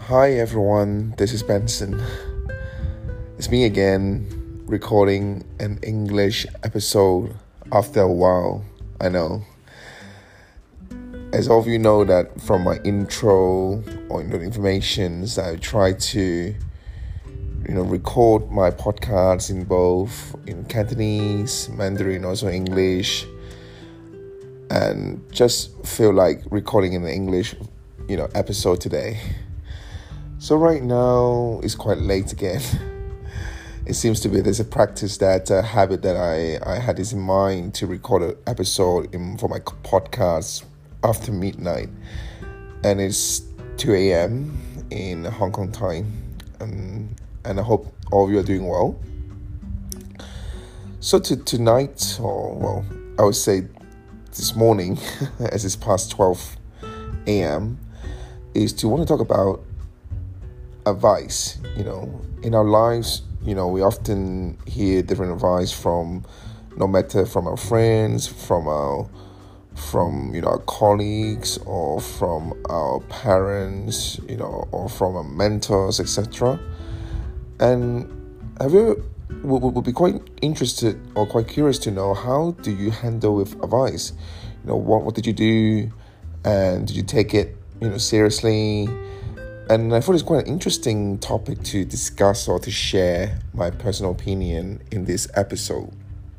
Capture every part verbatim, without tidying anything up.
Hi everyone, this is Benson. It's me again, recording an English episode after a while, I know. As all of you know that from my intro or you know, informations, I try to you know record my podcasts in both in Cantonese, Mandarin, also English, and just feel like recording an English you know episode today. So right now it's quite late again. It seems to be there's a practice that uh, habit that I, I had this in mind to record an episode in, for my podcast after midnight, and it's two a.m. in Hong Kong time, um, and I hope all of you are doing well. So to tonight, or well, I would say this morning, as it's past twelve a.m., is to want to talk about advice. You know, in our lives, you know, we often hear different advice from, no matter from our friends, from our, from you know our colleagues, or from our parents, you know, or from our mentors, et cetera. And have you would, would be quite interested or quite curious to know, how do you handle with advice? You know, what what did you do, and did you take it you know seriously? And I thought it's quite an interesting topic to discuss or to share my personal opinion in this episode.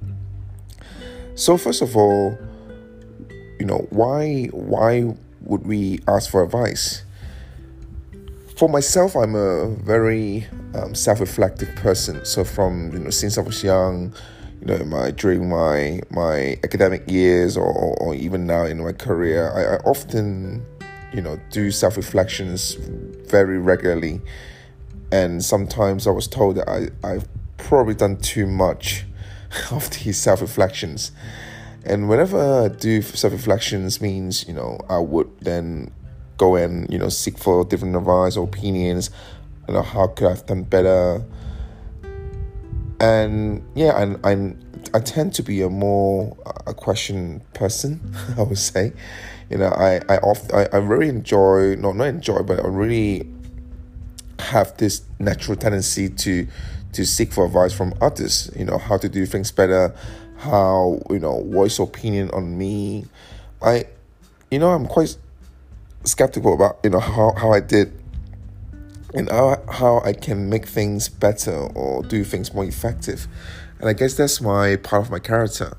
So first of all, you know, why why would we ask for advice? For myself, I'm a very um, self-reflective person. So from you know since I was young, you know, my during my my academic years, or, or even now in my career, I, I often you know do self-reflections very regularly, and sometimes I was told that I, I've probably done too much of these self-reflections. And whenever I do self-reflections means, you know, I would then go and, you know, seek for different advice or opinions, you know, how could I have done better? And yeah, and I, I tend to be a more a question person, I would say. You know, I I often I, I really enjoy not not enjoy, but I really have this natural tendency to to seek for advice from others. You know, how to do things better, how you know voice opinion on me. I, you know, I'm quite skeptical about you know how, how I did, and how how I can make things better or do things more effective, and I guess that's my part of my character.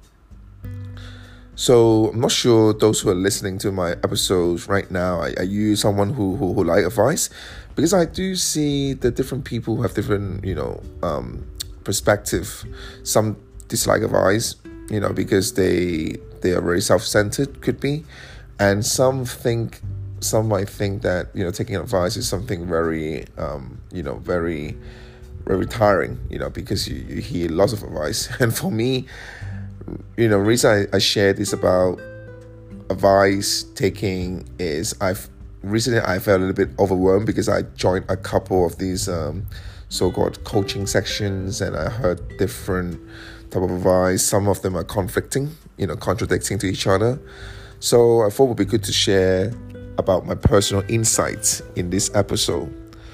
So I'm not sure those who are listening to my episodes right now, are, are you someone who, who who like advice? Because I do see that different people who have different, you know, um, perspective. Some dislike advice, you know, because they they are very self-centered, could be, and some think, some might think that you know taking advice is something very, um, you know, very, very tiring, you know, because you, you hear lots of advice. And for me, you know, the reason I, I share this about advice taking is I've recently I felt a little bit overwhelmed because I joined a couple of these um, so-called coaching sections, and I heard different type of advice. Some of them are conflicting, you know, contradicting to each other. So I thought it would be good to share about my personal insights in this episode.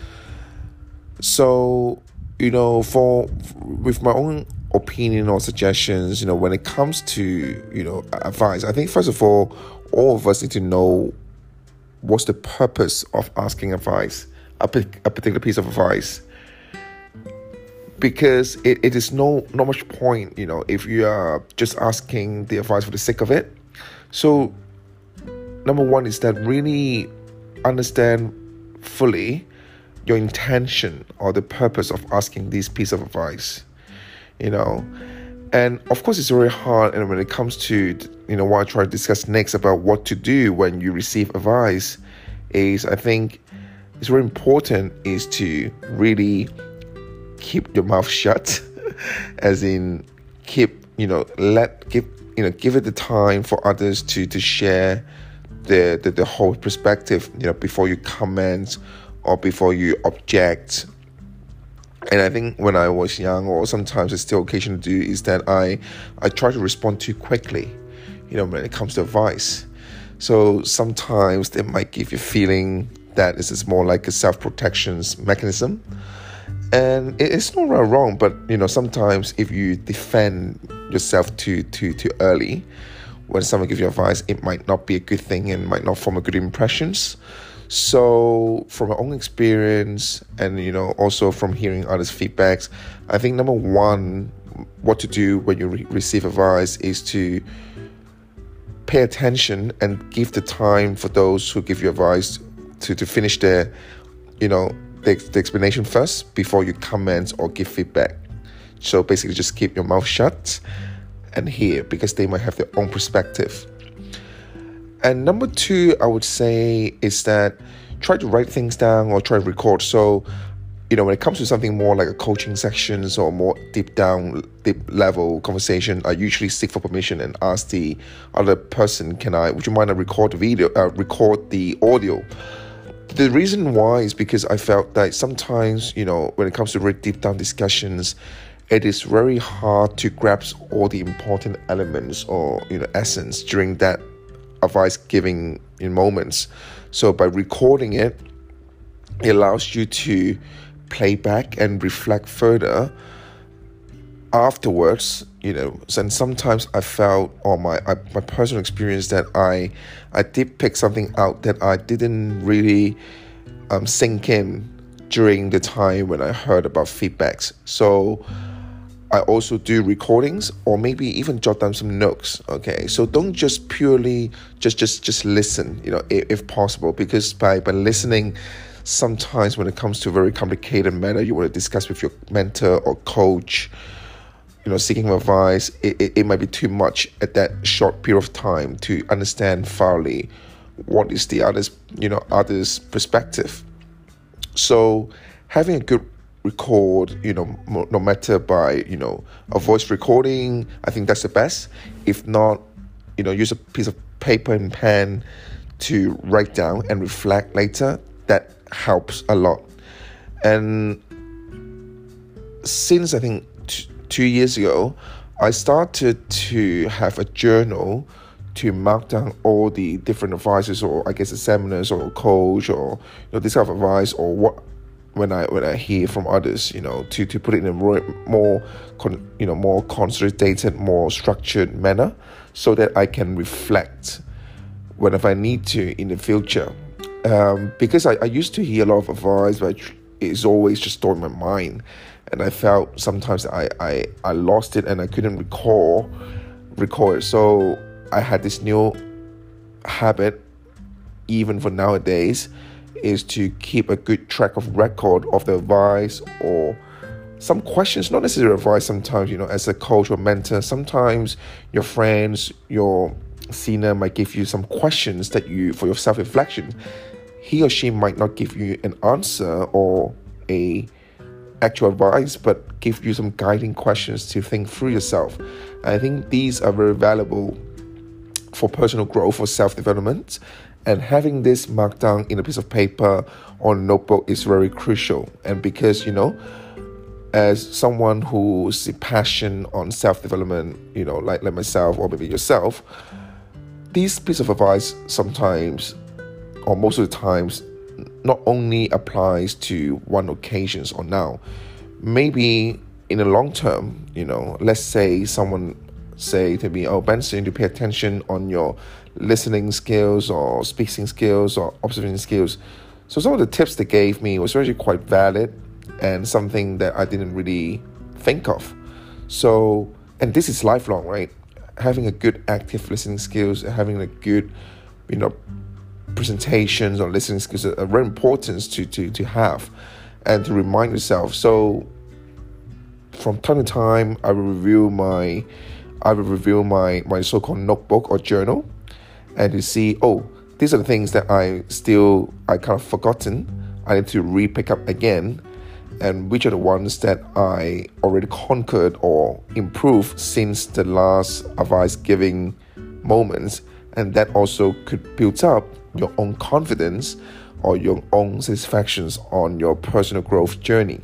So, you know, for with my own opinion or suggestions, you know, when it comes to, you know, advice, I think first of all, all of us need to know what's the purpose of asking advice, a, a particular piece of advice. Because it, it is no not much point, you know, if you are just asking the advice for the sake of it. So number one is that really understand fully your intention or the purpose of asking this piece of advice. You know, and of course it's very hard. And when it comes to, you know, what I try to discuss next about what to do when you receive advice is, I think it's very important is to really keep your mouth shut, as in keep, you know, let, give, you know, give it the time for others to, to share the, the, the whole perspective, you know, before you comment or before you object. And I think when I was young, or sometimes it's still occasion to do, is that I, I try to respond too quickly, you know, when it comes to advice. So sometimes it might give you a feeling that is more like a self-protection mechanism. And it's not right or wrong, but you know, sometimes if you defend yourself too too too early, when someone gives you advice, it might not be a good thing and might not form a good impressions. So from my own experience, and you know, also from hearing others' feedbacks, I think number one, what to do when you re- receive advice is to pay attention and give the time for those who give you advice to, to finish their, you know, the, the explanation first before you comment or give feedback. So basically just keep your mouth shut and hear, because they might have their own perspective. And number two, I would say, is that try to write things down or try to record. So, you know, when it comes to something more like a coaching sections or more deep down, deep level conversation, I usually seek for permission and ask the other person, can I, would you mind to record the video, uh, record the audio? The reason why is because I felt that sometimes, you know, when it comes to very deep down discussions, it is very hard to grasp all the important elements or, you know, essence during that advice giving in moments. So by recording it, it allows you to play back and reflect further afterwards, you know. And sometimes I felt, or my I, my personal experience, that I I did pick something out that I didn't really um, sink in during the time when I heard about feedbacks. So I also do recordings, or maybe even jot down some notes. Okay, so don't just purely just just just listen, you know, if, if possible, because by by listening, sometimes when it comes to a very complicated matter you want to discuss with your mentor or coach, you know, seeking advice, it, it, it might be too much at that short period of time to understand thoroughly what is the other's, you know, other's perspective. So having a good record, you know, no matter by, you know, a voice recording, I think that's the best. If not, you know, use a piece of paper and pen to write down and reflect later. That helps a lot. And since I think t- two years ago, I started to have a journal to mark down all the different advices, or I guess the seminars or coach, or you know, this kind of advice, or what when I when I hear from others, you know, to, to put it in a more, more con, you know, more consolidated, more structured manner, so that I can reflect whenever I need to in the future. Um, because I, I used to hear a lot of advice, but it's always just stored in my mind, and I felt sometimes that I, I, I lost it and I couldn't recall recall it. So I had this new habit, even for nowadays, is to keep a good track of record of the advice or some questions, not necessarily advice. Sometimes, you know, as a coach or mentor, sometimes your friends, your senior might give you some questions that you, for your self-reflection, he or she might not give you an answer or a actual advice, but give you some guiding questions to think through yourself. And I think these are very valuable for personal growth or self-development. And having this marked down in a piece of paper or a notebook is very crucial. And because, you know, as someone who's passionate on self-development, you know, like, like myself or maybe yourself, this piece of advice sometimes, or most of the times, not only applies to one occasions or now, maybe in the long term, you know, let's say someone say to me, oh, Benson, you pay attention on your listening skills or speaking skills or observing skills. So some of the tips they gave me was actually quite valid and something that I didn't really think of. So, and this is lifelong, right? Having a good active listening skills, having a good, you know, presentations or listening skills are very important to, to, to have and to remind yourself. So from time to time, I will review my I will review my, my so-called notebook or journal, and to see, oh, these are the things that I still, I kind of forgotten. I need to re-pick up again, and which are the ones that I already conquered or improved since the last advice giving moments. And that also could build up your own confidence or your own satisfactions on your personal growth journey.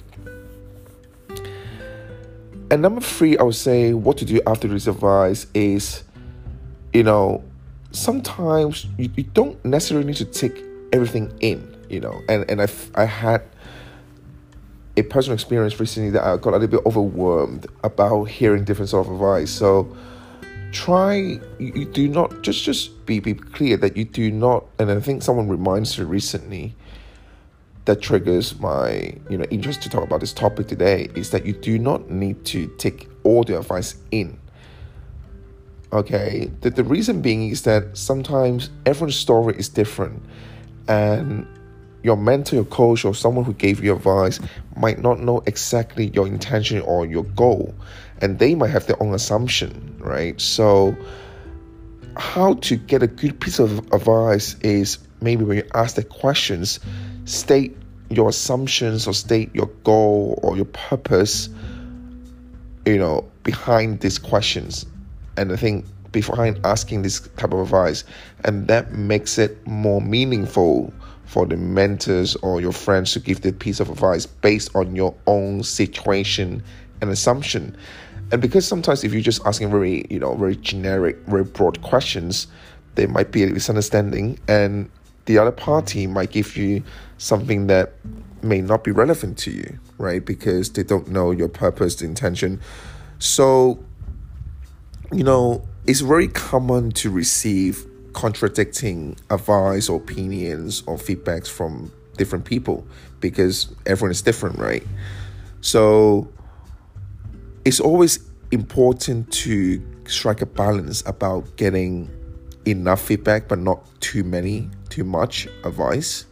And number three, I would say what to do after this advice is, you know, sometimes you, you don't necessarily need to take everything in. you know, and, and I, I had a personal experience recently that I got a little bit overwhelmed about hearing different sort of advice. So try, you, you do not, just, just be, be clear that you do not, and I think someone reminds me recently that triggers my, you know, interest to talk about this topic today, is that you do not need to take all the advice in. Okay, the, the reason being is that sometimes everyone's story is different, and your mentor, your coach, or someone who gave you advice might not know exactly your intention or your goal, and they might have their own assumption, right? So how to get a good piece of advice is maybe when you ask the questions, state your assumptions or state your goal or your purpose, you know, behind these questions. And I think behind asking this type of advice, and that makes it more meaningful for the mentors or your friends to give the piece of advice based on your own situation and assumption. And because sometimes if you're just asking very, you know, very generic, very broad questions, there might be a misunderstanding, and the other party might give you something that may not be relevant to you, right? Because they don't know your purpose, the intention. So, you know, it's very common to receive contradicting advice or opinions or feedbacks from different people because everyone is different, right? So it's always important to strike a balance about getting enough feedback but not too many, too much advice.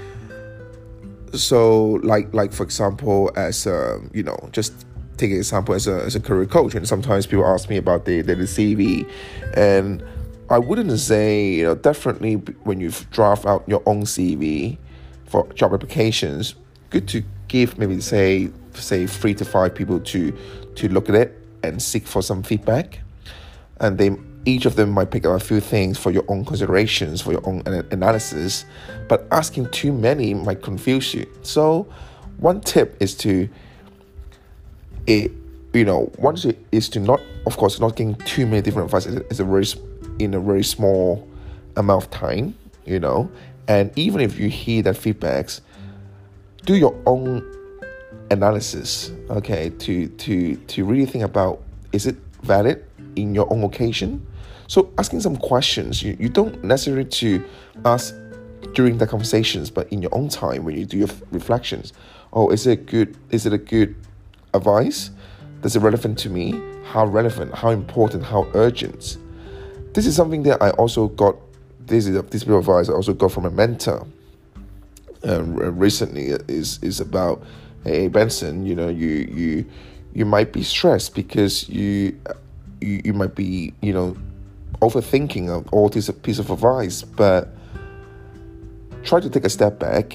So like like for example, as a, you know, just take an example as a as a career coach, and sometimes people ask me about the, the, the C V, and I wouldn't say, you know, definitely when you draft out your own C V for job applications, good to give maybe say say three to five people to to look at it and seek for some feedback, and they each of them might pick up a few things for your own considerations, for your own analysis, but asking too many might confuse you. So one tip is to, it, you know, one is to not, of course, not getting too many different advice. It's a very, in a very small amount of time, you know, and even if you hear that feedbacks, do your own analysis, okay, to, to, to really think about, is it valid in your own occasion? So asking some questions, you, you don't necessarily to ask during the conversations, but in your own time when you do your reflections. Oh, is it good? Is it a good advice? Is it relevant to me? How relevant? How important? How urgent? This is something that I also got. This is a, this bit of advice I also got from a mentor. Um, recently is is about, hey Benson, you know, you you you might be stressed because you you, you might be, you know, overthinking of all this piece of advice, but try to take a step back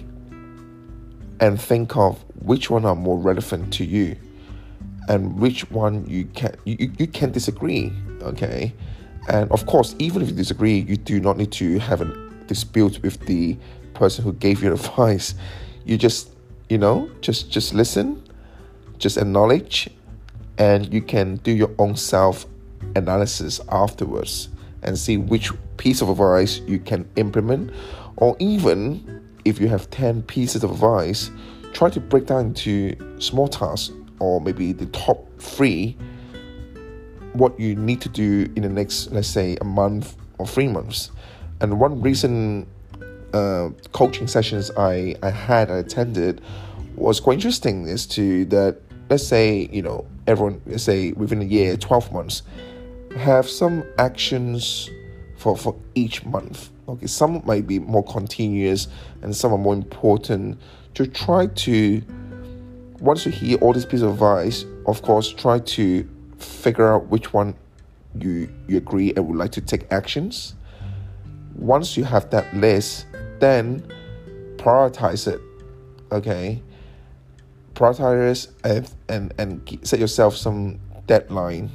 and think of which one are more relevant to you and which one you can you, you can disagree, okay? And of course, even if you disagree, you do not need to have a dispute with the person who gave you advice. You just, you know, just just listen, just acknowledge, and you can do your own self analysis afterwards and see which piece of advice you can implement. Or even if you have ten pieces of advice, try to break down into small tasks, or maybe the top three, what you need to do in the next, let's say, a month or three months. And one recent uh, coaching sessions I, I had, I attended, was quite interesting is to that, let's say, you know, everyone, let's say within a year, twelve months, have some actions for, for each month. Okay, some might be more continuous and some are more important. To try to, once you hear all these pieces of advice, of course, try to figure out which one you, you agree and would like to take actions. Once you have that list, then prioritize it, okay? Prioritize and, and, and set yourself some deadline.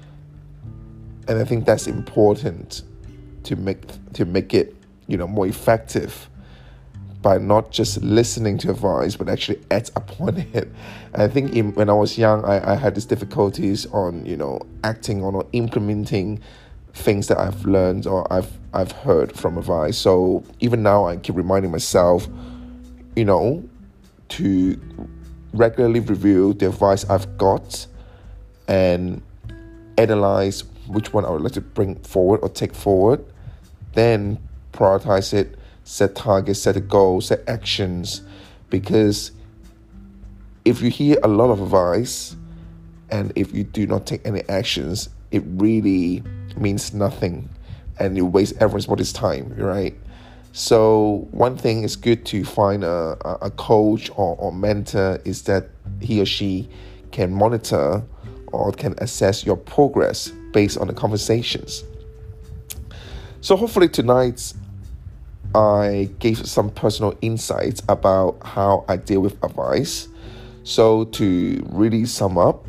And I think that's important to make to make it, you know, more effective by not just listening to advice, but actually act upon it. And I think in, when I was young, I, I had these difficulties on, you know, acting on or implementing things that I've learned or I've I've heard from advice. So even now, I keep reminding myself, you know, to regularly review the advice I've got and analyze which one I would like to bring forward or take forward, then prioritize it, set targets, set a goal, set actions. Because if you hear a lot of advice and if you do not take any actions, it really means nothing and you waste everybody's time, right? So one thing is good to find a, a coach or, or mentor is that he or she can monitor or can assess your progress based on the conversations. So hopefully tonight I gave some personal insights about how I deal with advice. So to really sum up,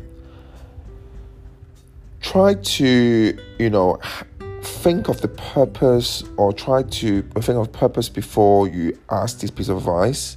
try to, you know, think of the purpose or try to think of purpose before you ask this piece of advice.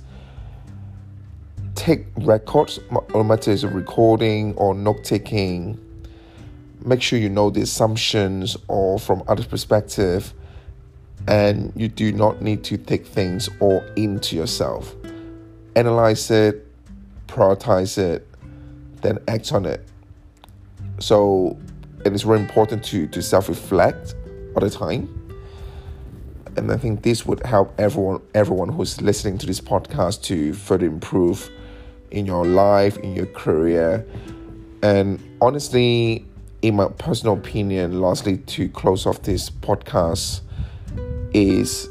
Take records, no matter it's a recording or note-taking. Make sure you know the assumptions or from other perspective, and you do not need to take things all into yourself. Analyze it, prioritize it, then act on it. So it is very important to, to self-reflect all the time. And I think this would help everyone everyone who's listening to this podcast to further improve in your life, in your career. And honestly, in my personal opinion, lastly, to close off this podcast, is,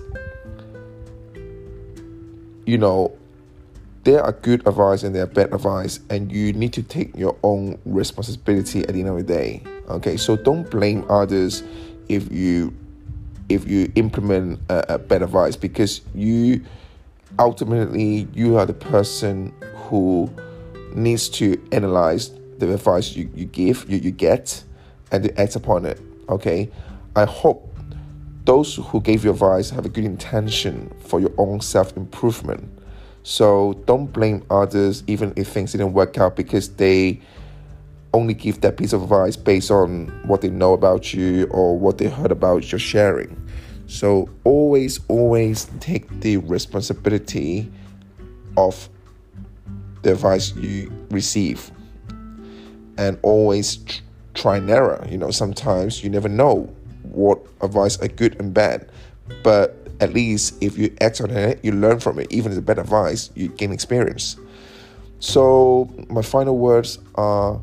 you know, there are good advice and there are bad advice, and you need to take your own responsibility at the end of the day. Okay, so don't blame others if you if you implement a, a bad advice, because you ultimately you are the person who needs to analyze the advice you, you give, you, you get, and to act upon it. Okay, I hope those who gave you advice have a good intention for your own self-improvement. So don't blame others even if things didn't work out, because they only give that piece of advice based on what they know about you or what they heard about your sharing. So always, always take the responsibility of the advice you receive, and always tr- try and error. You know, sometimes you never know what advice are good and bad, but at least if you act on it, you learn from it. Even if it's bad advice, you gain experience. So my final words are,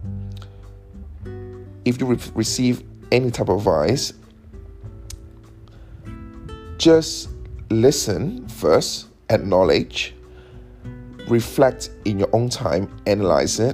if you re- receive any type of advice, just listen first, acknowledge, reflect in your own time, analyze it,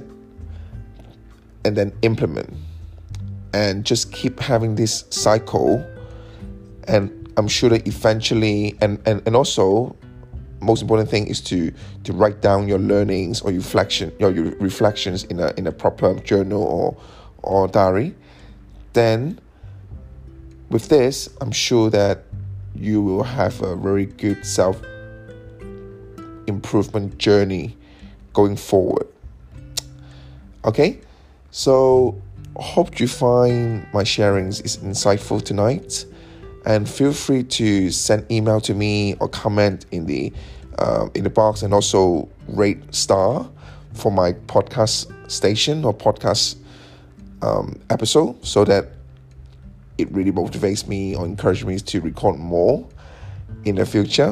and then implement. And just keep having this cycle, and I'm sure that eventually, and, and, and also, most important thing is to to write down your learnings or your reflection, your, your reflections in a in a proper journal or or diary. Then, with this, I'm sure that you will have a very good self improvement journey going forward. Okay, so hope you find my sharings is insightful tonight, and feel free to send email to me or comment in the um, in the box, and also rate star for my podcast station or podcast um, episode, so that it really motivates me or encourages me to record more in the future.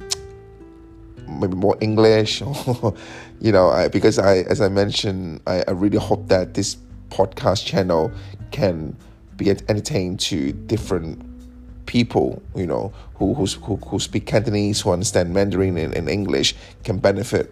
Maybe more English, or, you know, I, because I, as I mentioned, I, I really hope that this podcast channel can be entertained to different people, you know, who who who, who speak Cantonese, who understand Mandarin and, and English, can benefit.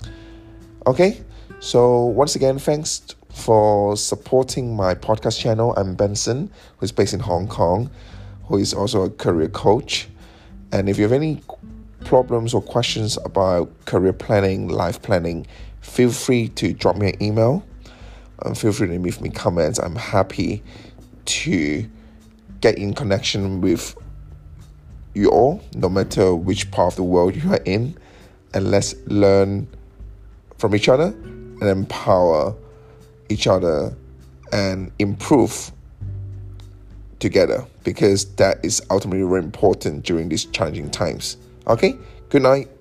Okay, so once again, thanks for supporting my podcast channel. I'm Benson, who's based in Hong Kong, who is also a career coach. And if you have any problems or questions about career planning, life planning, feel free to drop me an email. Um, feel free to leave me comments. I'm happy to get in connection with you all, no matter which part of the world you are in, and let's learn from each other and empower each other and improve together, because that is ultimately very important during these challenging times. Okay, good night.